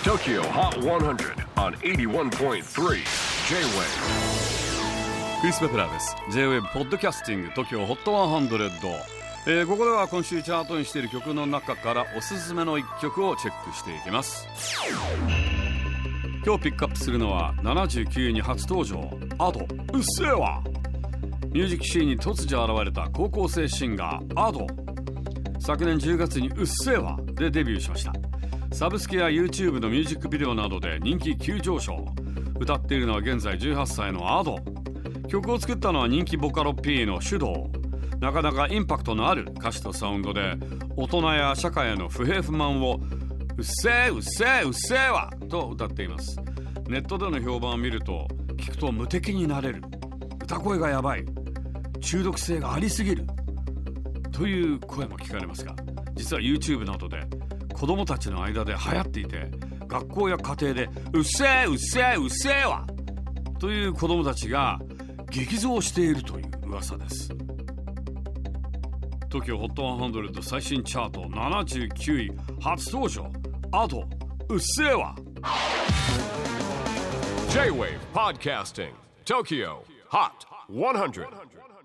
TOKYO HOT 100 on 81.3 J-WAVE クリス・ベプラーです。 J-WAVE ポッドキャスティング TOKYO HOT 100、ここでは今週チャートにしている曲の中からおすすめの一曲をチェックしていきます。今日ピックアップするのは79位に初登場、Ado うっせぇわ。ミュージックシーンに突如現れた高校生シンガー Ado。 昨年10月にうっせぇわでデビューしました。サブスクや YouTube のミュージックビデオなどで人気急上昇。歌っているのは現在18歳の Ado。 曲を作ったのは人気ボカロ P のシュドウ。なかなかインパクトのある歌詞とサウンドで大人や社会への不平不満をうっせぇうっせぇうっせぇわと歌っています。ネットでの評判を見ると、聞くと無敵になれる、歌声がやばい、中毒性がありすぎるという声も聞かれますが、実は YouTube などで子供たちの間で流行っていて、学校や家庭でうっせぇうっせぇうっせぇわという子供たちが激増しているという噂です。 TOKYO HOT 100最新チャート79位初登場、Adoうっせぇわ。 J-WAVE PODCASTING TOKYO HOT 100